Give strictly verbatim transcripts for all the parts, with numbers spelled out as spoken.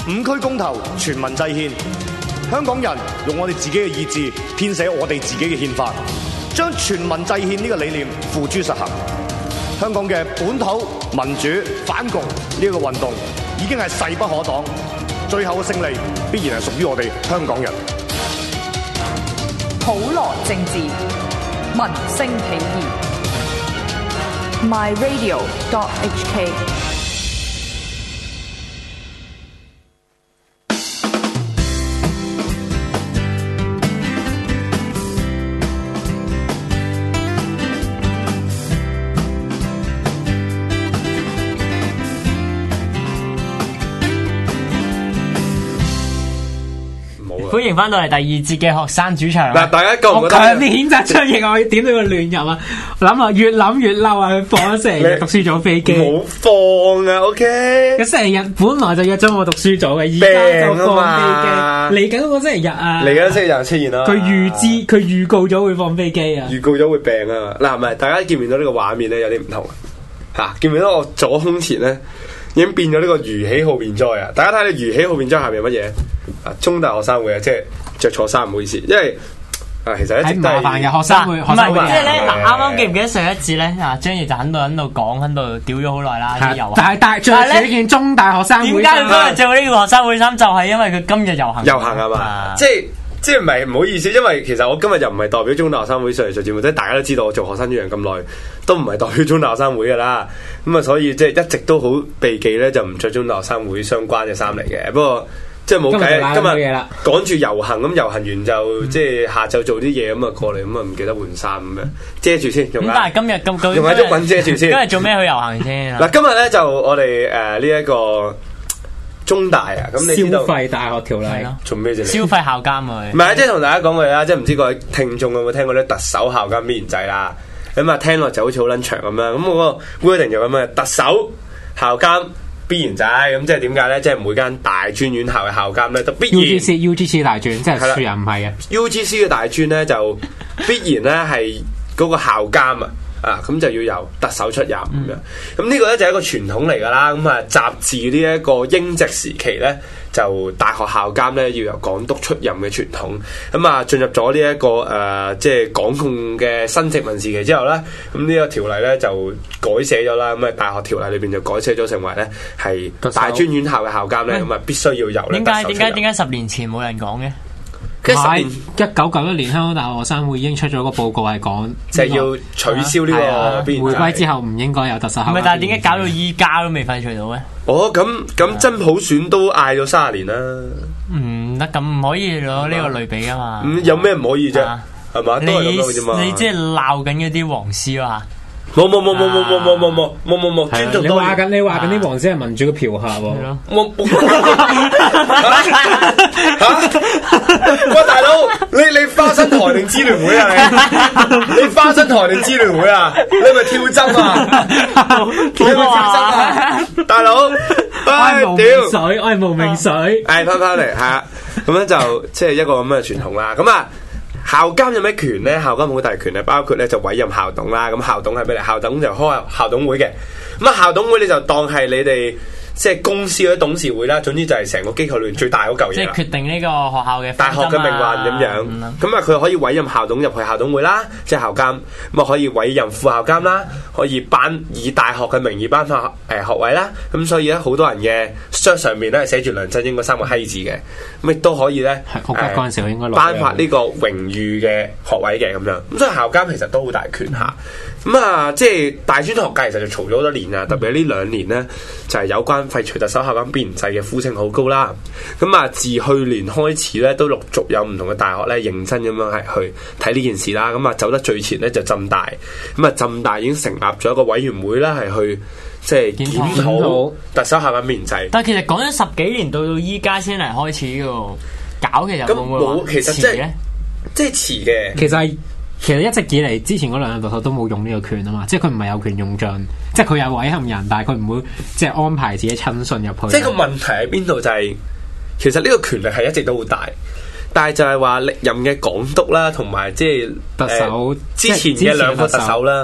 五區公投，全民制憲，香港人用我哋自己嘅意志編寫我哋自己嘅憲法，將全民制憲呢個理念付諸實行。香港嘅本土民主反共呢個運動已經係勢不可擋，最後嘅勝利必然係屬於我哋香港人。 普羅政治，民聲起義。My Radio dot H K。 歡迎翻到嚟第二節嘅學生主場。 嗱，大家覺唔覺得？ 我強烈譴責張翼，我點到佢亂入啊！諗啊，越諗越嬲啊！佢放咗成日讀書組飛機， 冇放啊 ！OK， 佢成日本來就約咗我讀書組嘅，而家就放飛機。嚟緊嗰個星期日啊！ 嚟緊星期日出現啦。 佢預知，佢預告咗會放飛機啊！ 預告咗會病啊！嗱，係咪大家見唔見到呢個畫面咧？有啲唔同啊！嚇，見唔見到我左胸前咧已經變咗呢個如喜號便災啊！大家睇下如喜號便災下面乜嘢？啊，中大學生會啊，即係着錯衫，唔好意思，因為啊，其實一直都係麻煩嘅學生會， 唔係即係咧嗱，啱啱記唔記得上一節咧啊，張翼就喺度喺度講，喺度屌咗好耐啦啲遊行， 但係但係着住呢件中大學生會衫， 點解佢今日着呢個學生會衫？就係因為佢今日遊行， 遊行係嘛？即係即係唔係唔好意思，因為其實我今日又唔係代表中大學生會上嚟做節目，即係大家都知道我做學生主場咁耐，都唔係代表中大學生會噶啦，咁啊，所以即係一直都好避忌咧，就唔着中大學生會相關嘅衫嚟嘅，不過。即係冇計，今日趕住遊行咁，遊行完就、嗯、即係下晝做啲嘢咁啊，過嚟咁啊，唔記得換衫咁樣遮住先。用咁但係今日咁用下啲棍遮住先。 今日做咩去遊行先？ 嗱，今日咧就我哋誒呢一個中大啊，咁你知道消費大學條例做咩啫？ 消費校監啊！ 唔係，即係同大家講句啦，即係唔知各位聽眾有冇聽過咧特首校監必然制啦？咁啊聽落就好似好撚長咁樣。咁我個規定就咁嘅，特首校監。必然制咁，即係點解咧？即係每間大專院校嘅校監咧都必然 U G C U G C 大專，即係樹人唔係嘅 U G C 嘅大專咧就必然咧係嗰個校監啊啊咁就要由特首出任咁樣。咁、嗯、呢個咧就係一個傳統嚟㗎啦。咁啊，習自呢一個英殖時期咧，就大學校監咧要由港督出任嘅傳統。咁啊，進入咗呢一個誒、呃、即係港共嘅新殖民時期之後咧，咁呢個條例咧就改寫咗啦。咁啊，大學條例裏邊就改寫咗成為咧係大專院校嘅校監咧，咁啊必須要由咧特首出任。點解點解點解十年前冇人講嘅？ 係一九九一年香港大學學生會已經出咗個報告係講， 就係要取消呢個必然制。 回歸之後唔應該有特首校監。 唔係，但係點解搞到依家都未廢除到咧？ 哦，咁咁真普選都嗌咗三十年啦。 唔得，咁唔可以攞呢個類比啊嘛。 咁有咩唔可以啫？係嘛？都係咁樣啫嘛。 你即係鬧緊嗰啲黃絲啊？ 冇冇冇冇冇冇冇冇冇冇冇冇，尊重你話緊你話緊啲黃絲係民主嘅嫖客喎。 冇嚇！喂，大佬，你你花生台定支聯會啊？你你花生台定支聯會啊？你咪跳針啊？你咪跳針啊？大佬，唉屌！ 水，我係無名水。 誒，翻翻嚟係啊，咁樣就即係一個咁嘅傳統啦。咁啊。校監有咩權咧？校監好大權咧，包括咧就委任校董啦。咁校董係咩嚟？校董就開校董會嘅。咁啊，校董會你就當係你哋即係公司嗰啲董事會啦。總之就係成個機構裏面最大嗰嚿嘢。 即係決定呢個學校嘅大學嘅命運咁樣。咁啊，佢可以委任校董入去校董會啦，即係校監。咁啊，可以委任副校監啦，可以頒以大學嘅名義頒發誒學位啦。咁所以咧，好多人嘅章上面咧係寫住梁振英嗰三個閪字嘅。咁亦都可以咧， 係嗰陣時我應該頒發呢個榮譽嘅學位嘅咁樣。咁所以校監其實都好大權下。咁啊，即係大專學界其實就嘈咗好多年啊，特別係呢兩年咧，就係有關廢除特首校監必然制嘅呼聲好高啦。咁啊，自去年開始咧，都陸續有唔同嘅大學咧認真咁樣係去睇呢件事啦。咁啊，走得最前咧就浸大。咁啊，浸大已經成立咗一個委員會啦，係去即係檢討特首校監必然制。 但係其實講咗十幾年，到到依家先嚟開始嘅喎，搞其實會唔會冇？其實即係即係遲嘅。 其實係。其實一直以嚟，之前嗰兩任特首都冇用呢個權啊嘛，即係佢唔係有權用盡，即係佢有委任人，但係佢唔會即係安排自己親信入去。 即係個問題喺邊度就係、是，其實呢個權力係一直都好大，但係就係話歷任嘅港督啦，同埋即係特首、呃、 之前嘅兩個特首啦，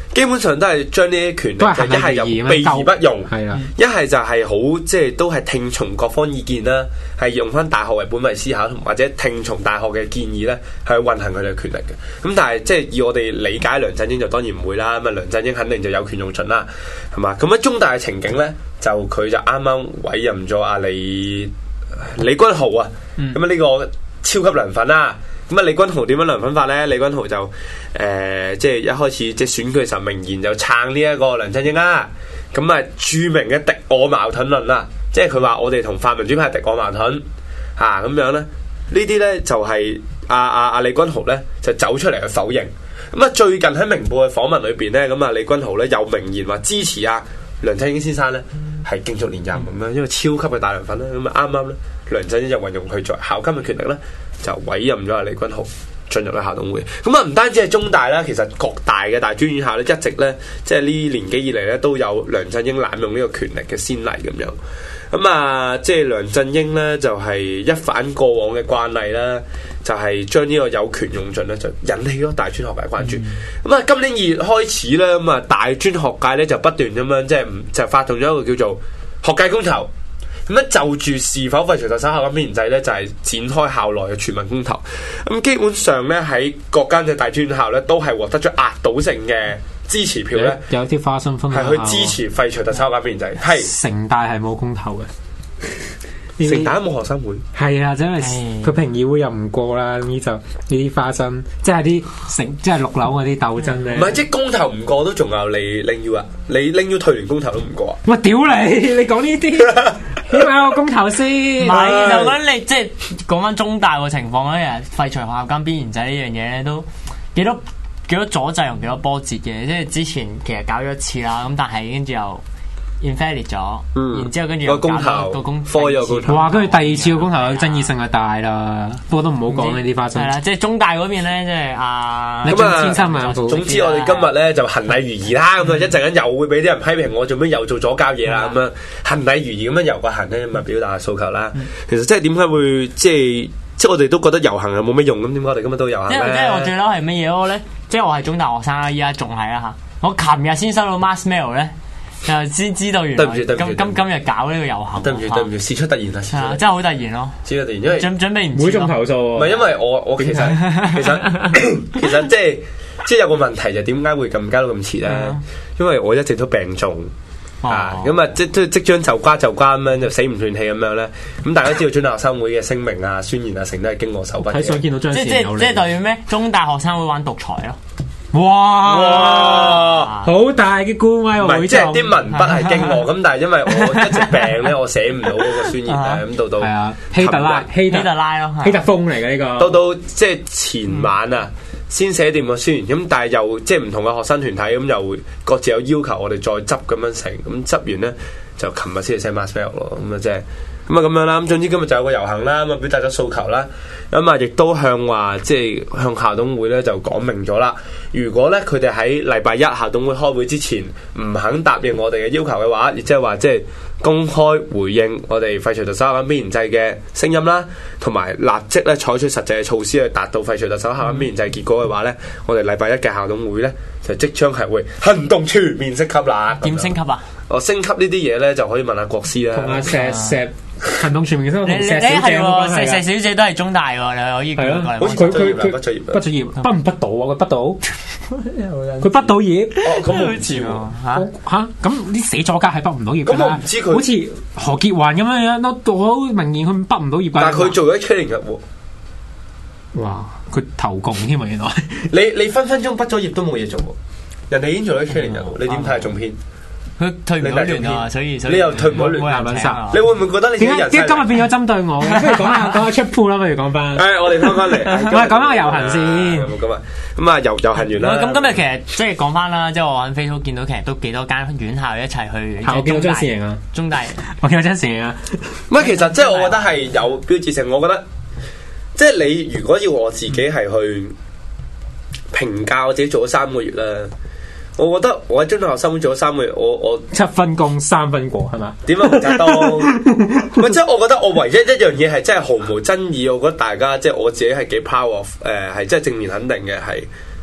基本上都係將呢啲權力都係就一係就行禮如儀避而不用， 係啦， 一係就係好即係都係聽從各方意見啦，係用翻大學為本位思考，同或者聽從大學嘅建議咧，去運行佢哋嘅權力嘅。咁但係即係以我哋理解梁振英就當然唔會啦，咁啊梁振英肯定就有權用盡啦，係嘛？咁喺中大嘅情景咧，就佢就啱啱委任咗阿李李君豪啊，咁啊呢個超級梁粉啦。咁啊，李君豪點樣梁粉法咧？李君豪就誒、呃，即係一開始即係選舉嘅時候明言就撐呢一個梁振英啦。咁啊，著名嘅敵我矛盾論啦，即係佢話我哋同泛民主派敵我矛盾嚇咁樣咧。呢啲咧就係阿阿阿李君豪咧就走出嚟去否認。咁啊，最近喺明報嘅訪問裏邊咧，咁啊李君豪咧有明言話支持啊梁振英先生咧係競逐連任咁樣，因為超級嘅大梁粉啦。咁啊啱啱咧梁振英就運用佢作校監嘅權力咧。就委任咗阿李君豪進入咗校董會，咁啊唔單止係中大啦，其實各大嘅大專院校咧一直咧，即係呢年幾以嚟咧都有梁振英濫用呢個權力嘅先例咁樣。咁啊，即係梁振英咧就係、是、一反過往嘅慣例啦，就係將呢個有權用盡咧，就引起咗大專學界關注。咁啊、嗯，今年二月開始咧，咁啊大專學界咧就不斷咁樣即係唔就發動咗一個叫做學界公投。咁咧就住是否廢除特首校監編制咧，就係、是、展開校內嘅全民公投。咁基本上咧喺各間嘅大專校咧，都係獲得咗壓倒性嘅支持票咧。 有啲花生分係去支持廢除特首校監編制。係城大係冇公投嘅， 城大都冇學生會。 係啊，真係佢評議會又唔過啦。呢就呢啲花生，即係啲城，即係六樓嗰啲鬥爭咧。 唔係，即係公投唔過都仲有你拎要啊！你拎要退聯公投都唔過啊！ 喂，屌你！你講呢啲。起碼有個公投先，唔係就講你即係講翻中大個情況咧，廢除學校監邊緣制呢樣嘢咧，都幾多幾多阻滯同幾多波折嘅。即係之前其實搞咗一次啦，咁但係跟住又 invalid 咗，嗯、然之後跟住又公投個公科有公投， 哇！跟住第二次個公投嘅爭議性就大啦，不過都唔好講呢啲花生。 係啦，即係中大嗰邊咧，即係啊， 咁啊，千三萬總之我哋今日咧就行禮如儀啦，咁啊一陣間又會俾啲人批評我做咩又做左膠嘢啦，咁樣行禮如儀咁樣遊個行咧，咁啊表達下訴求啦。其實即係點解會即係即係我哋都覺得遊行係冇乜用咁，點解我哋今日都遊行咧？ 因為即係我最嬲係乜嘢咧？即係我係中大學生啦，依家仲係啦嚇。我琴日先收到 mass mail 咧。就先知道原來今今今日搞呢個遊行， 對唔住對唔住，事出突然啊！ 係啊，真係好突然咯， 事出突然，因為準準備唔每種投訴， 唔係因為我我其實其實其實即係即係有個問題就點解會咁加到咁遲咧？因為我一直都病重啊，咁啊即即即將就瓜就瓜咁樣就死唔斷氣咁樣咧。咁大家知道中大學生會嘅聲明啊、宣言啊，成都係經過手筆嘅。 睇想見到張即即即代表咩？中大學生會玩獨裁咯。 哇！哇好大嘅官威喎！ 唔係即係啲文筆係經我咁，但係因為我一直病咧，我寫唔到嗰個宣言咧，咁到到係啊，希特拉希特拉咯， 希特風嚟嘅呢個。 到到即係前晚啊，先寫掂個宣言，咁但係又即係唔同嘅學生團體咁，又會各自有要求我哋再執咁樣成，咁執完咧就琴日先至 send mass mail 咯，咁啊即係。咁啊咁樣啦，咁總之今日就有個遊行啦，咁啊表達咗訴求啦，咁啊亦都向話即係向校董會咧就講明咗啦。如果咧佢哋喺禮拜一校董會開會之前唔肯答應我哋嘅要求嘅話，亦即係話即係公開回應我哋廢除特首校監邊緣制嘅聲音啦，同埋立即咧採取實際嘅措施去達到廢除特首校監邊緣制結果嘅話咧，我哋禮拜一嘅校董會咧就即將係會行動全面升級啦。 點升級啊？ 哦，升級呢啲嘢咧就可以問下國師啦。 同阿石石行動全面升級， 你你係喎，石石小姐都係中大喎，你可以過嚟。 佢佢佢畢咗業，畢咗業，畢唔畢到啊？佢畢到，佢畢到業。 哦，咁我唔知喎。 嚇嚇，咁啲死咗家係畢唔到業㗎啦。 咁我唔知佢好似何潔環咁樣樣，都好明顯佢畢唔到業。 但係佢做咗 training 嘅喎。 哇！佢投共添啊，原來。 你你分分鐘畢咗業都冇嘢做喎，人哋已經做咗 training 嘅喎，你點睇係中編？ 佢退唔到聯啊，所以所以你又退唔到聯，你會唔會覺得你點解點解今日變咗針對我？不如講下講下出鋪啦，不如講翻。 誒，我哋翻返嚟， 我哋講翻個遊行先。 咁啊，咁啊遊遊行完啦。 咁今日其實即係講翻啦，即係我喺 Facebook 見到其實都幾多間院校一齊去。 我見到張善瑩啊， 中大， 我見到張善瑩啊。 唔係，其實即係我覺得係有標誌性。我覺得即係你如果要我自己係去評價我自己做咗三個月啦。我覺得我喺中大學生會做咗三個月，我我七分功三分過係嘛？ 點樣唔扎多？唔即係我覺得我唯一一樣嘢係真係毫無爭議，我覺得大家即係我自己係幾 proud of 誒、呃，係真係正面肯定嘅係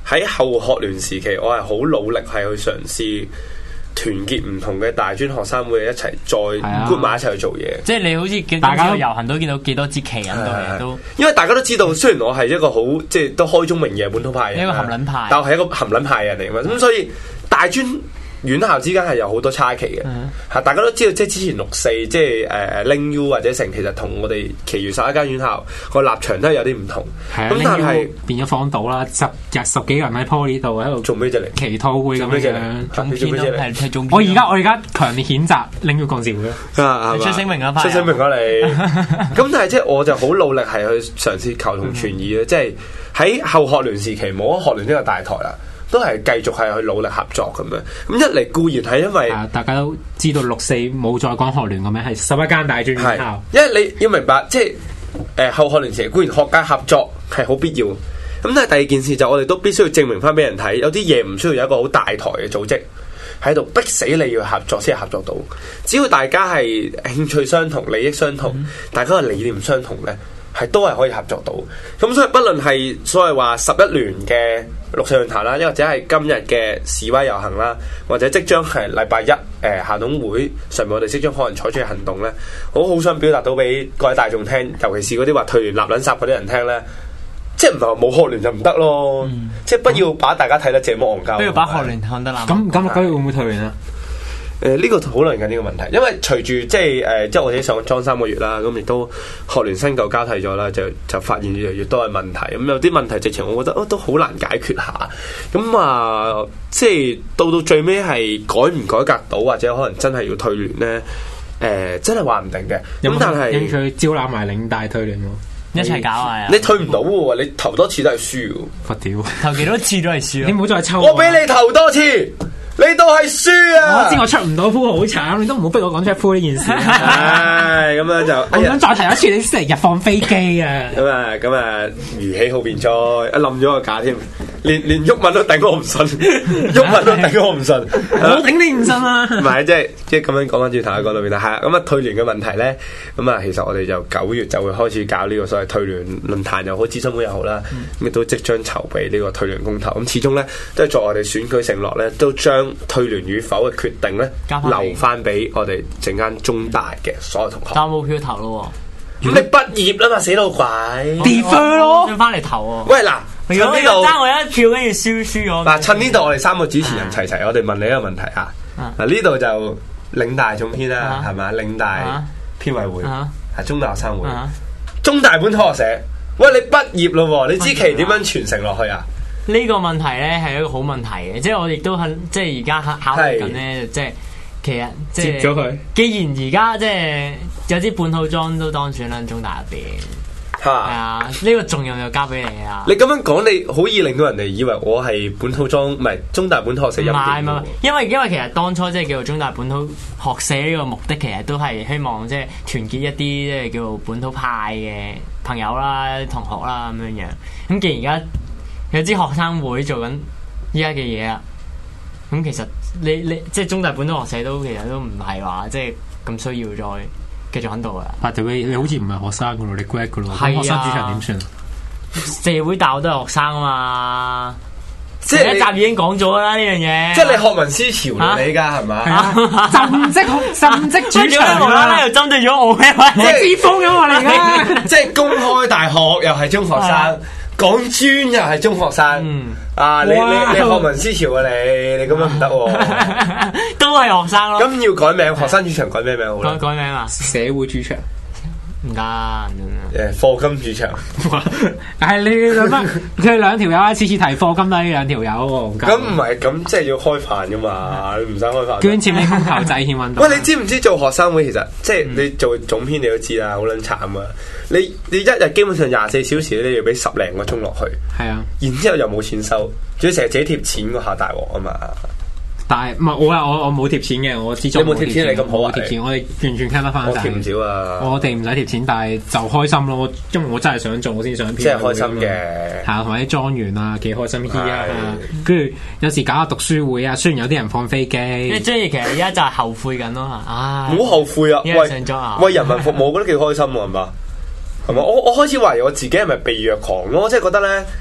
喺後學聯時期，我係好努力係去嘗試團結唔同嘅大專學生會一齊再 group 埋一齊去做嘢。 即係你好似見到遊行都見到幾多支旗喺度嘅都。 因為大家都知道，雖然我係一個好即係都開宗明義嘅本土派人， 一個含撚派， 但我係一個含撚派人嚟嘛。咁所以大專院校之間係有好多差旗嘅，嚇、嗯、大家都知道，即係之前六四，即係誒拎 U 或者成，其實同我哋其餘十一間院校個立場都係有啲唔同。咁、啊、但係變咗荒島啦，十日十幾個人喺 Poly 度喺度做咩啫？嚟祈禱會咁樣， 總編咯，係係總編。 我而家我而家強烈譴責拎 U 幹事會啊！ 出聲明啦， 出聲明啦你。咁但係即係我就好努力係去嘗試求同存異嘅，即係喺後學聯時期冇咗學聯呢個大台啦。都係繼續係去努力合作咁樣，咁一嚟固然係因為、 啊、大家都知道六四冇再講學聯個名，係十一間大專院校。 因為你要明白，即係誒、呃、後學聯時期固然學界合作係好必要，咁但係第二件事就我哋都必須要證明翻俾人睇，有啲嘢唔需要有一個好大台嘅組織喺度逼死你要合作先係合作到。只要大家係興趣相同、利益相同，嗯、大家嘅理念相同咧，係都係可以合作到。咁所以不論係所謂話十一聯嘅六四論壇啦，又或者係今日嘅示威遊行啦，或者即將係禮拜一誒、呃、校董會上面我哋即將可能採取嘅行動咧，我好想表達到俾各位大眾聽，尤其是嗰啲話退聯立撚殺嗰啲人聽咧，即係唔係話冇學聯就唔得咯，嗯、即係不要把大家睇得這麼戇鳩， 不要把學聯看得爛。 咁咁六九月會唔會退聯啊？ 誒呢、呃這個討論緊呢個問題，因為隨住即係誒、呃，即係我哋上裝三個月啦，咁亦都學聯新舊交替咗啦，就就發現越嚟越多嘅問題。咁有啲問題直情，我覺得哦都好難解決下。咁啊、呃，即係到到最尾係改唔改革到，或者可能真係要退聯咧？誒、呃，真係話唔定嘅。咁但係興趣招攬埋領大退聯喎， 一齊搞啊！ 你退唔到喎，你投多次都係輸喎。 佛屌， 投幾多次都係輸。 你唔好再抽。 我俾你投多次。你都係輸啊！ 我知我出唔到鋪好慘，你都唔好逼我講出鋪呢件事。 唉，咁樣就我想再提一次，你星期日放飛機啊！ 咁啊，咁啊，如喜好變災，一冧咗個架添，連連鬱文都頂我唔順，鬱文都頂我唔順， 我頂你唔順啊！ 唔係，即係即係咁樣講翻轉頭喺嗰度邊啦，係啊，咁啊退聯嘅問題咧，咁啊其實我哋就九月就會開始搞呢個所謂退聯論壇又好，諮詢會又好啦，咁亦都即將籌備呢個退聯公投，咁始終咧都係作我哋選舉承諾咧，都將退聯與否嘅決定咧，留翻俾我哋陣間中大嘅所有同學。 但冇票投咯， 咁你畢業啦嘛，死老鬼 ，defer 咯， 要翻嚟投。 喂嗱， 如果呢度爭我一票，跟住輸輸咗。 嗱，趁呢度我哋三個主持人齊齊，我哋問你一個問題啊。嗱，呢度就領大總編啦，係咪？領大編委會係中大學生會，中大本土學社。喂，你畢業咯，你支旗點樣傳承落去啊？ 呢個問題咧係一個好問題嘅，即係我亦都肯，即係而家考慮緊咧，即係其實即係接咗佢。 既然而家即係有啲本土莊都當選啦，中大入邊係啊，呢個重任就交俾你啊！ 你咁樣講，你好易令到人哋以為我係本土莊，唔係中大本土學社入邊。唔係唔係， 因為因為其實當初即係叫做中大本土學社呢個目的，其實都係希望即係團結一啲即係叫做本土派嘅朋友啦、同學啦咁樣樣。咁既然而家有支學生會做緊依家嘅嘢啊，咁其實你你即係中大本土學社都其實都唔係話即係咁需要再繼續喺度啊。 但係你好似唔係學生噶咯，你 grad 噶咯，咁學生主場點算啊？ 社會大學都係學生啊嘛，即係一集已經講咗啦呢樣嘢。 即係你學民思潮你噶係咪？ 浸職浸職主場啦，又針對咗我嘅， 我知風咁我嚟噶。 即係公開大學又係中學生。講專又係中學生，嗯、啊！你你你學民思潮啊！你你咁樣唔得喎， 都係學生咯。咁要改名，學生主場改咩名好咧？ 改改名啊！ 社會主場唔得， 誒課金主場。 係你諗乜？佢兩條友啊，次次提課金都係呢兩條友喎。 咁唔係咁，即係要開飯噶嘛？你唔使開飯。 捐錢俾公投制憲運動。 喂，你知唔知做學生會其實即係你做總編你都知啦，好撚慘啊！你你一日基本上廿四小時咧，你要俾十零個鐘落去，係啊，然之後又冇錢收，仲要成日自己貼錢嗰下大鑊啊嘛！ 但係唔係我啊，我我冇貼錢嘅，我始終你冇貼錢，你咁好啊？ 貼錢，我哋完全 can 得翻。 我貼唔少啊！ 我哋唔使貼錢，但係就開心咯。因為我真係想做，我先想編。 即係開心嘅， 係啊，同埋啲莊園啊，幾開心啲啊！跟住有時搞下讀書會啊，雖然有啲人放飛機。 即係即係，其實而家就係後悔緊咯嚇！唉， 唔好後悔啊！為為人民服務，我覺得幾開心喎，係嘛？係嘛？我我開始懷疑我自己係咪被虐狂咯？即係覺得咧，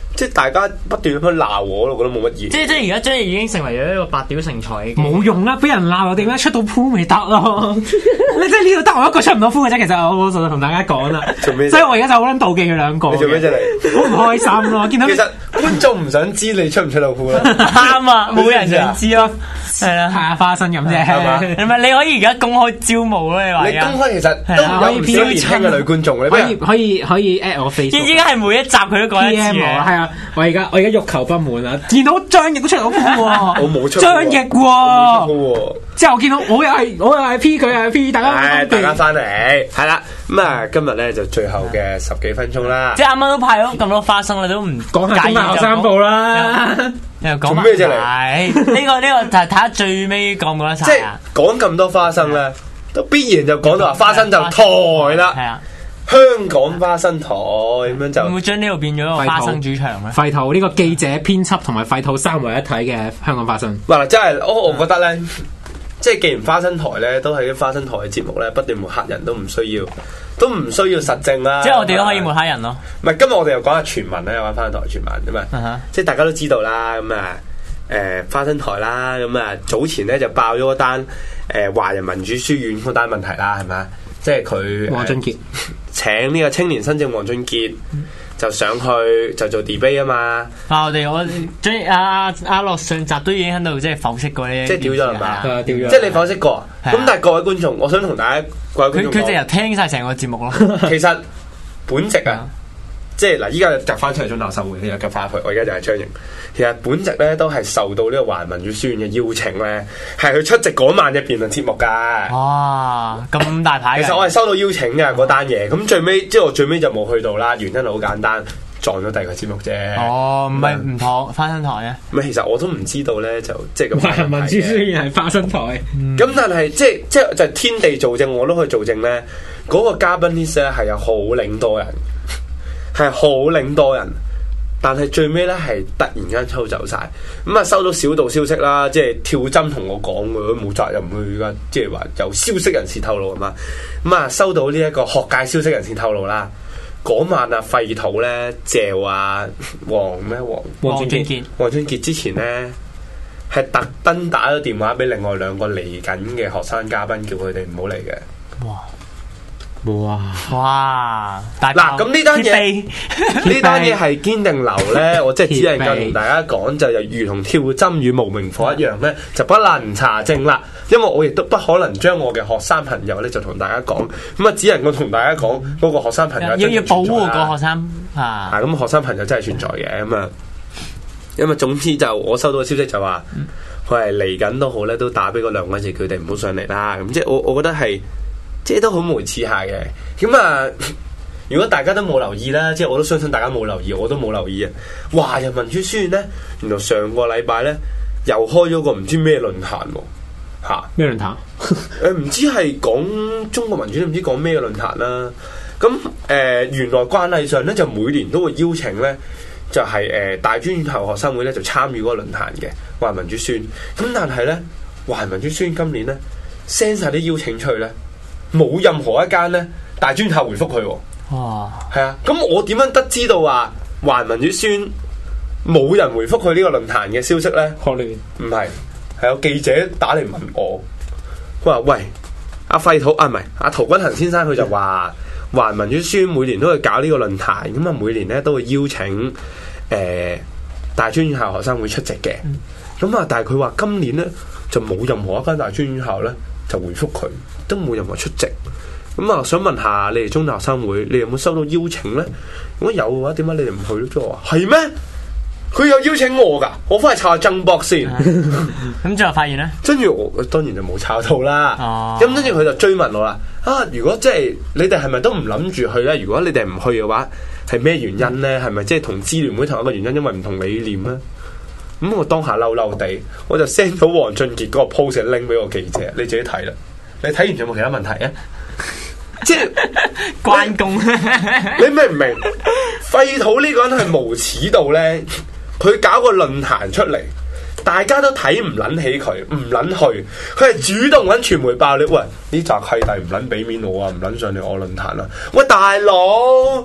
即係大家不斷咁樣鬧我，我覺得冇乜意義。 即係即係而家張翼已經成為咗一個百屌成才嘅。 冇用啦，俾人鬧我點解出到鋪未得咯？你即係呢度得我一個出唔到鋪嘅啫。其實我我就同大家講啦， 做咩？ 所以我而家就好撚妒忌佢兩個。 你做咩啫你？ 好唔開心咯！見到其實觀眾唔想知你出唔出到鋪啦。 啱啊，冇人想知咯。係啦， 係啊，花生咁啫。 係嘛？ 係咪你可以而家公開招募咯？你話你公開其實都有唔少年輕嘅女觀眾，你可以可以可以 at 我 Facebook。 依家係每一集佢都講一次嘅。 係啊，我而家我而家欲求不滿啊！見到張翼都出到鋪喎， 我冇出張翼喎。之後我見到我又係我又係 P 佢又係 P，大家大家翻嚟係啦。咁啊，今日咧就最後嘅十幾分鐘啦。 即係啱啱都派咗咁多花生，你都唔講下中大學生報啦。 又講咩啫你？ 呢個呢個就係睇下最尾講唔講得晒。 即係講咁多花生咧，都必然就講到話花生就台啦。 係啊。 香港花生台咁樣就會唔會將呢度變咗一個花生主場咧？ 廢土呢個記者、編輯同埋廢土三位一體嘅香港花生。 嗱，真係我我覺得咧，即係既然花生台咧都係啲花生台嘅節目咧，不斷抹黑人都唔需要，都唔需要實證啦。 即係我哋都可以抹黑人咯。 唔係，今日我哋又講下傳聞咧，有關花生台傳聞咁啊， uh huh. 即係大家都知道啦。咁啊，誒花生台啦，咁啊早前咧就爆咗嗰單誒華人民主書院嗰單問題啦，係咪？即係佢黃俊傑請呢個青年新政黃俊傑就上去就做 debate 啊嘛。 啊，我哋我將阿阿樂上集都已經喺度即係剖析過呢， 即係屌咗係嘛？ 係啊，屌咗。 即係你剖析過。咁但係各位觀眾，我想同大家各位觀眾講， 佢佢就由聽晒成個節目咯。 其實本席啊，即係嗱，依家夾翻出嚟中大學生會，又夾翻入去。我而家就係張瑩。其實本席咧都係受到呢個華人民主書院嘅邀請咧，係去出席嗰晚嘅辯論節目㗎。 哇！咁大牌。 其實我係收到邀請嘅嗰單嘢，咁最尾即係我最尾就冇去到啦。原因係好簡單，撞咗第二個節目啫。 哦，唔係唔妥花生台啊？ 唔係，其實我都唔知道咧，就即係咁。 華人民主書院係花生台。咁、 嗯、但係即係即係就係天地做證，我都可以做證咧。嗰、嗰個嘉賓 list 咧係有好領多人，係好領多人。但係最尾咧係突然間抽走晒，咁啊收到小道消息啦，即係跳針同我講嘅，冇責任去噶，即係話由消息人士透露啊嘛，咁啊收到呢一個學界消息人士透露啦，嗰晚啊廢土咧謝啊黃咩黃黃俊傑， 黃俊傑之前咧係特登打咗電話俾另外兩個嚟緊嘅學生嘉賓，叫佢哋唔好嚟嘅。哇！ 哇哇！嗱， 咁呢單嘢呢單嘢係堅定流咧，我即係只能夠同大家講，就又如同跳針與無名火一樣咧，就不能查證啦。因為我亦都不可能將我嘅學生朋友咧就同大家講，咁啊只能夠同大家講嗰個學生朋友要要保護個學生啊。 咁學生朋友真係存在嘅，咁啊，因為總之就我收到嘅消息就話佢係嚟緊都好咧，都打俾嗰兩位字佢哋唔好上嚟啦。咁即係我我覺得係。即係都好無恥下嘅，咁啊！如果大家都冇留意啦，即係我都相信大家冇留意，我都冇留意啊！華人民主書院咧，原來上個禮拜咧又開咗個唔知咩論壇喎，嚇咩論壇？ 誒唔知係講中國民主，唔知講咩論壇啦。咁誒、呃、原來慣例上咧就每年都會邀請咧，就係、是、誒、呃、大專院校學生會咧就參與嗰個論壇嘅華人民主書院。咁但係咧華人民主書院今年咧 send 晒啲邀請出去咧。冇任何一間咧大專校回覆佢喎。 哇！ 係啊，咁我點樣得知道話華人民主書院冇人回覆佢呢個論壇嘅消息咧？ 學聯唔係，係有記者打嚟問我，佢話：喂，阿廢土啊，唔係阿陶君行先生，佢就話華人民主書院每年都會搞呢個論壇，咁啊每年咧都會邀請誒、呃、大專院校學生會出席嘅。咁啊，但係佢話今年咧就冇任何一間大專院校咧就回覆佢。都冇任何出席，咁啊想問下你哋中大學生會，你有冇收到邀請咧？如果有嘅話，點解你哋唔去咧？即係話係咩？佢有邀請我噶，我翻去查下曾博先。 咁最後發現咧， 跟住我當然就冇查到啦。 哦， 咁跟住佢就追問我啦。啊，如果即係你哋係咪都唔諗住去咧？如果你哋唔去嘅話，係咩原因咧？係咪即係同支聯會同一個原因？因為唔同理念咧？咁我當下嬲嬲地，我就 send 到黃俊傑嗰個 post link 俾我記者，你自己睇啦。你睇完有冇其他問題啊？即係關公， 你明唔明？廢土呢個人係無恥到咧，佢搞個論壇出嚟，大家都睇唔撚起佢，唔撚去，佢係主動揾傳媒爆料，喂，呢紮契弟唔撚俾面我啊，唔撚上嚟我論壇啦！喂，大佬，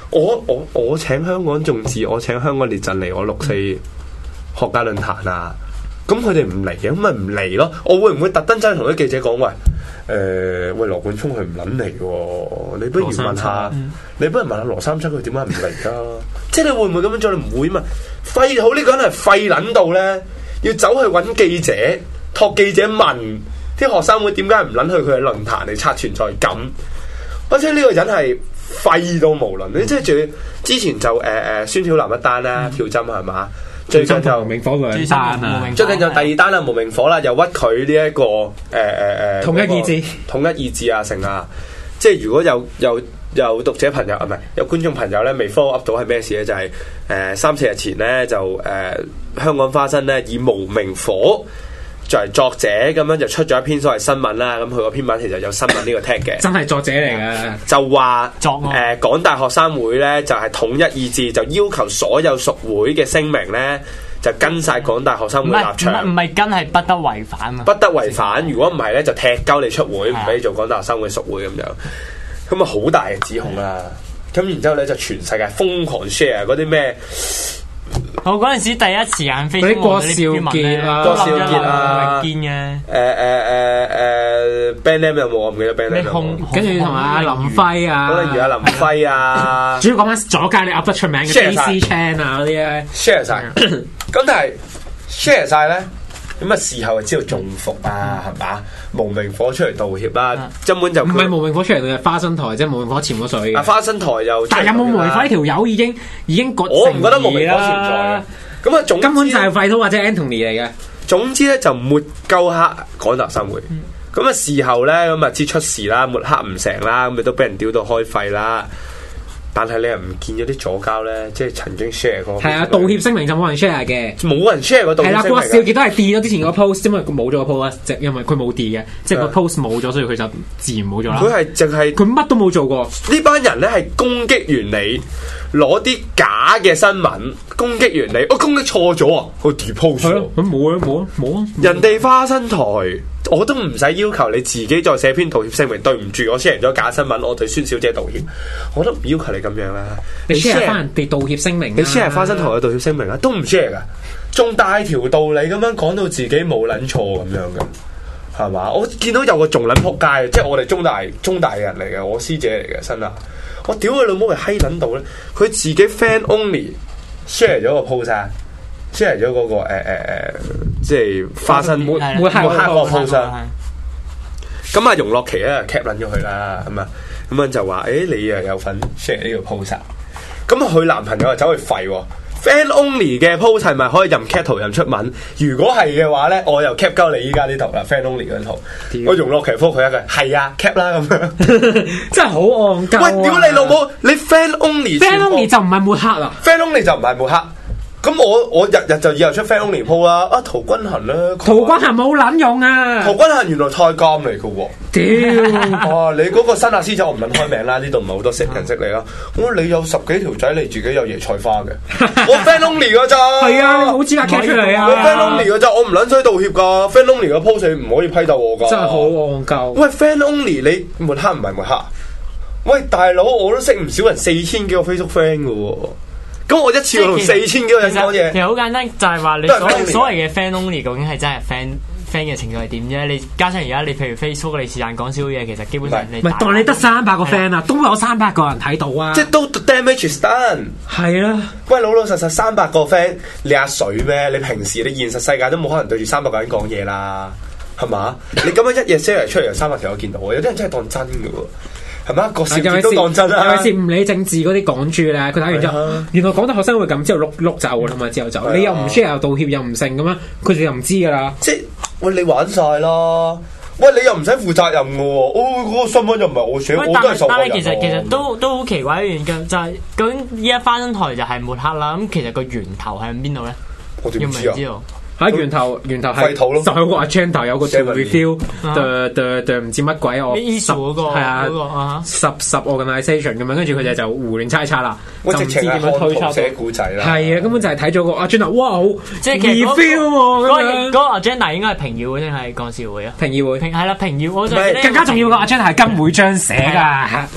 我我我請香港眾志，我請香港列陣嚟我六四學界論壇啊！咁佢哋唔嚟嘅，咁咪唔嚟咯。我會唔會特登真係同啲記者講，喂，誒、呃，喂，羅冠聰佢唔撚嚟喎，你不如問下，嗯、你不如問下羅三七佢點解唔嚟㗎？即係你會唔會咁樣做？你唔會嘛？廢好呢個人係廢撚到咧，要走去揾記者，託記者問啲學生會點解唔撚去佢嘅論壇嚟刷存在感？或者呢個人係廢到無論，你即係仲要之前就誒誒、呃、孫曉南一單啦，票針係嘛？最近就無名火兩單啊！最近就第二單啦，無名火啦，又屈佢呢一個誒誒誒統一意志、統一意志啊，成啊！即係如果有有有讀者朋友啊，唔係有觀眾朋友咧，未 follow up 到係咩事咧？就係、是、誒、呃、三四日前咧，就誒、呃、香港花生咧以無名火作為作者咁樣就出咗一篇所謂新聞啦。咁佢個篇文其實有新聞呢個 tag 嘅，真係作者嚟嘅，就話作誒、呃、港大學生會咧就係、是、統一意志，就要求所有屬會嘅聲明咧就跟晒港大學生會立場，唔係跟係不得違反啊，不得違反。如果唔係咧就踢鳩你出會，唔俾你做港大學生會屬會咁樣。咁啊好大嘅指控啦。咁然之後咧就全世界瘋狂 share 嗰啲咩？我嗰陣時第一時間飛嗰啲郭少傑啊，郭少傑啊，見嘅。誒誒誒誒 ，band name 有冇？我唔記得 band name 有冇。跟住同阿林輝啊，嗰例如阿林輝啊，主要講翻左街你噏得出名嘅 D C Chan 啊嗰啲咧 share 晒。咁但係 share 晒咧，咁啊事後就知道中伏啊，係嘛？無名火出嚟道歉啦，根本就唔係無名火出嚟，佢係花生台，即係無名火潛咗水嘅。啊，花生台又，但係有冇無名火呢條友已經已經割我唔覺得無名火存在嘅。咁啊，總根本就係廢土或者 Anthony 嚟嘅。總之咧就抹鳩黑港大學生會。咁啊事後咧咁啊知出事啦，抹黑唔成啦，咁咪都俾人屌到開肺啦。但係你又唔見咗啲左膠咧，即係曾經 share 過。係啊，道歉聲明就冇人 share 嘅，冇人 share 個道歉聲明。係啦，郭少傑都係 delete 咗之前個 post，因為佢冇咗個 post，即係因為佢冇 delete嘅，即係個 post 冇咗，所以佢就自然冇咗啦。佢係淨係佢乜都冇做過。呢班人咧係攻擊完你，攞啲假嘅新聞攻擊完你，我、哦、攻擊錯咗啊，我 depost 咗。咁冇啊冇啊冇啊！人哋花生台。我都唔使要求你自己再寫篇道歉聲明，對唔住，我 share 咗假新聞，我對孫小姐道歉。我都唔要求你咁樣啦。你 share 翻人哋道歉聲明，你 share 花生台嘅道歉聲明啊，都唔 share 噶，仲大條道理咁樣講到自己冇撚錯咁樣嘅，係嘛？我見到有個仲撚仆街，即係我哋中大中大嘅人嚟嘅，我師姐嚟嘅，新啊！我屌佢老母係閪撚到咧，佢自己 fan only share 咗個 post 啊！share 咗嗰個誒誒誒，即係花生抹抹黑個 post。咁啊，容樂琪咧 cap 撚咗佢啦，咁啊，咁樣就話：，誒，你又有份 share 呢個 post。咁啊，佢男朋友就走去廢喎 ，fan only 嘅 post 係咪可以任 cap 圖任出文？如果係嘅話咧，我又 cap 鳩你依家呢圖啦 ，fan only 嗰圖。我容樂琪覆佢一句：，係啊 ，cap 啦咁樣。真係好戇鳩。喂，屌你老母！你 fan only，fan only 就唔係抹黑啦 ，fan only 就唔係抹黑。咁我我日日就以後出 fan only po 啦，啊陶君行啦，陶君行冇撚用啊，陶君行原來太監嚟噶喎，屌，哇你嗰個新亞師仔我唔撚開名啦，呢度唔係好多識人識你啦，咁你有十幾條仔，你自己有椰菜花嘅，我 fan only 噶咋，係啊，你冇資格 cap 出嚟啊，我 fan only 噶咋，我唔撚使道歉噶 ，fan only 個 post 唔可以批鬥我噶，真係好戇鳩，喂 fan only 你抹黑唔係抹黑，喂大佬我都識唔少人四千幾個 Facebook friend 噶喎。咁我一次同四千幾個人講嘢，其實好簡單，就係話你所所謂嘅 fan only 究竟係真係 fan fan 嘅程度係點啫？你加上而家你譬如 Facebook 你是但講少嘢，其實基本上你唔係當你得三百個 fan 啊，都有三百個人睇到啊！即係都 damage is done 係啦。喂，老老實實三百個 fan，你阿水咩？你平時你現實世界都冇可能對住三百個人講嘢啦，係嘛？你咁樣一夜 share 出嚟，有三百條我見到，有啲人真係當真嘅喎。係嘛？個事件都當真啦，係咪先？唔理政治嗰啲港豬咧，佢睇完之後，原來港大學生會咁，之後碌碌走啦嘛，之後走，你又唔 share 又道歉又唔成咁樣，佢哋又唔知噶啦。即係喂，你玩晒啦！喂，你又唔使負責任嘅喎。哦，嗰個新聞又唔係我寫，我都係受害人。但係其實其實都都好奇怪一樣嘅，就係究竟依家花生台就係抹黑啦。咁其實個源頭係喺邊度咧？我點知啊？喺源頭源頭係就係個 agenda 有個 review 對對對唔知乜鬼我十係啊十十 organisation 咁樣，跟住佢哋就胡亂猜測啦，就唔知點樣推測寫故仔啦。係啊，根本就係睇咗個 agenda，哇好即係 review 喎咁樣。嗰個 agenda 應該係評議會定係幹事會啊？評議會評係啦，評議會就更加重要個 agenda 係跟會章寫㗎。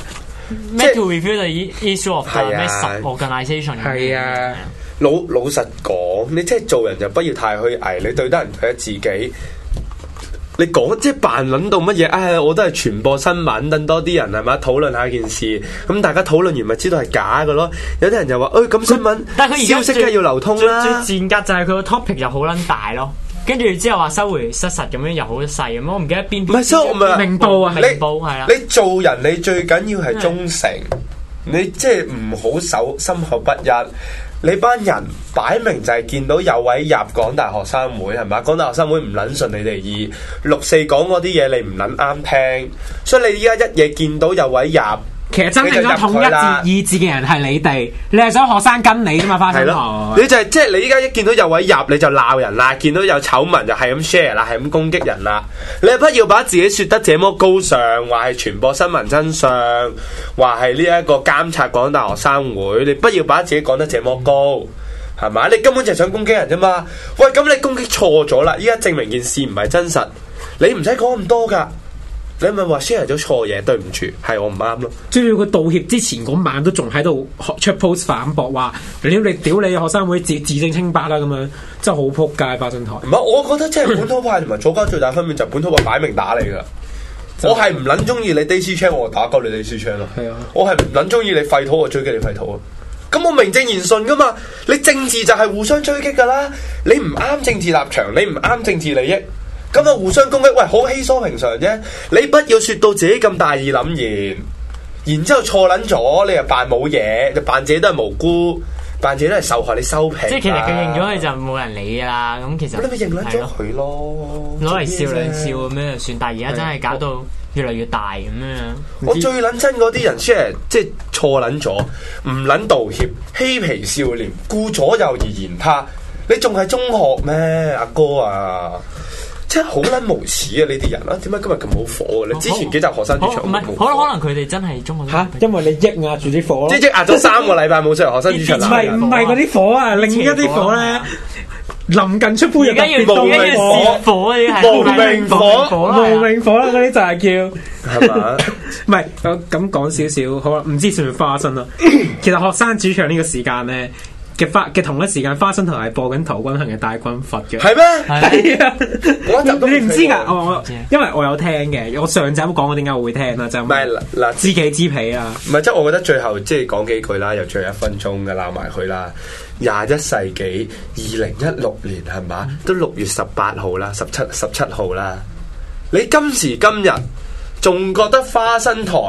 咩 to review the issue of 係啊咩 sub-organisation 係啊， 老老實講，你即係做人就不要太虛偽，你對得人對得自己。你講即係扮撚到乜嘢？唉、哎，我都係傳播新聞，等多啲人係嘛討論下件事。咁大家討論完咪知道係假嘅咯。有啲人就話：，誒、哎、咁新聞， 但係佢而家消息梗係要流通啦。 最賤格就係佢個 topic 又好撚大咯，跟住之後話收回失實咁樣又好細咁，我唔記得邊邊。 唔係，所以我咪明報啊， 明報係啦。 你做人你最緊要係忠誠，你即係唔好守心口不一。你班人擺明就係見到有位入港大學生會係咪？港大學生會唔撚順你哋意，六四講嗰啲嘢你唔撚啱聽，所以你依家一夜見到有位入， 其實真正咗統一意志嘅人係你哋，你係想學生跟你啫嘛，花生堂。 你就係即係你依家一見到有位入你就鬧人啦，見到有醜聞就係咁 share 啦，係咁攻擊人啦。你不要把自己説得這麼高尚，話係傳播新聞真相，話係呢一個監察港大學生會，你不要把自己講得這麼高，係咪？你根本就係想攻擊人啫嘛。喂，咁你攻擊錯咗啦，依家證明件事唔係真實，你唔使講咁多㗎。你咪話 share 咗錯嘢，對唔住，係我唔啱咯。 仲要佢道歉之前嗰晚都仲喺度出 post 反駁話：屌你屌你學生會自自證清白啦咁樣，真係好撲街花生台。 唔係，我覺得即係本土派同埋左膠最大分別就係本土派擺明打你㗎。我係唔撚中意你 Daisy Chain，我打鳩你 Daisy Chain 咯。係啊，我係唔撚中意你廢土，我追擊你廢土啊。咁我名正言順㗎嘛，你政治就係互相追擊㗎啦。你唔啱政治立場，你唔啱政治利益。咁啊，互相攻擊，喂，好稀疏平常啫。你不要説到自己咁大義凜然，然之後錯撚咗，你又扮冇嘢，就扮自己都係無辜，扮自己都係受害，你收皮。 即係其實佢認咗佢就冇人理㗎啦。咁其實你咪認撚咗佢咯， 攞嚟笑兩笑咁樣就算。但係而家真係搞到越嚟越大咁樣。 我最撚憎嗰啲人 share，即係錯撚咗，唔撚道歉，嬉皮笑臉，顧左右而言他。你仲係中學咩，阿哥啊？真係好撚無恥啊！呢啲人啊，點解今日咁好火嘅咧？之前幾集學生主場唔係，可能可能佢哋真係中學嚇，因為你抑壓住啲火咯， 即係抑壓咗三個禮拜冇出嚟學生主場。 唔係唔係嗰啲火啊，另一啲火咧，臨近出杯又特別無名火，火嗰啲係無名火， 無名火啦，嗰啲就係叫係嘛？ 唔係咁講少少，好啦，唔知算唔算花生啦？其實學生主場呢個時間咧。嘅花嘅同一時間，花生台係播緊陶君行嘅《大軍閥》嘅， 係咩？ 係啊，你唔知㗎？我我因為我有聽嘅，我上集都講過點解我會聽啦，就唔係嗱知己知彼啊。 唔係即係我覺得最後即係講幾句啦，又最後一分鐘嘅鬧埋佢啦。廿一世紀二零一六年係嘛？都六月十八號啦，十七十七號啦。你今時今日仲覺得花生台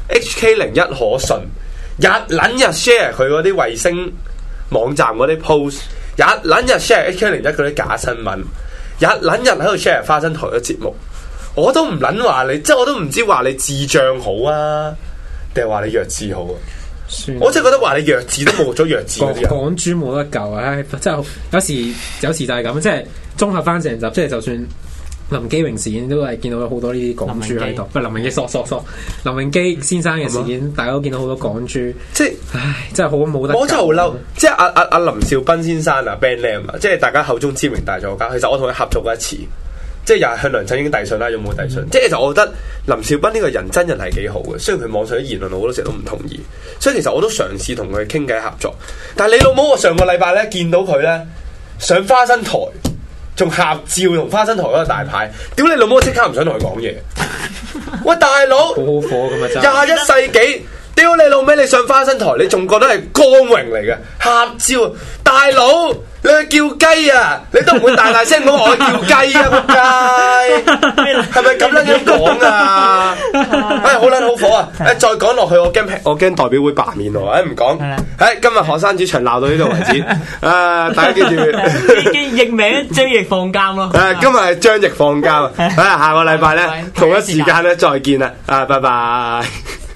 H K 零一可信？日撚日 share 佢嗰啲衛星網站嗰啲 post， 日撚日 share H K 零一嗰啲假新聞，日撚日喺度 share 花生台嘅節目，我都唔撚話你，即係我都唔知話你智障好啊，定係話你弱智好啊？算我真係覺得話你弱智都冇咗弱智嗰啲人， 港豬冇得救啊！唉，即係有時有時就係咁，即係綜合翻成集，即係就算林基榮事件都係見到有好多呢啲港豬喺度，唔係林榮基，索索索，林榮基先生嘅事件，嗯、大家都見到好多港豬，即係唉，真係好冇得救。 我真係好嬲，即係阿阿阿林兆斌先生啊 Ben Lam 啊，即係大家口中知名大作家。其實我同佢合作過一次，即係又係向梁振英遞信啦，有冇遞信？嗯、即係其實我覺得林兆斌呢個人真人係幾好嘅，雖然佢網上啲言論我好多時候都唔同意，所以其實我都嘗試同佢傾偈合作。但係你老母，我上個禮拜咧見到佢咧上花生台。仲合照同花生台嗰個大牌，屌你老母！我即刻唔想同佢講嘢。喂，大佬， 好好火咁啊！真廿一世紀，屌你老味！你上花生台，你仲覺得係光榮嚟嘅合照，大佬你去叫雞啊！你都唔會大大聲講我叫雞啊！仆街，係咪咁樣樣講啊？唉，好撚好火啊！誒，再講落去，我驚我驚代表會罷免我，誒唔講。誒，今日學生主場鬧到呢度為止。誒，大家記住， 譯名張翼放監咯。 誒，今日係張翼放監。誒，下個禮拜咧同一時間咧再見啦。啊，拜拜。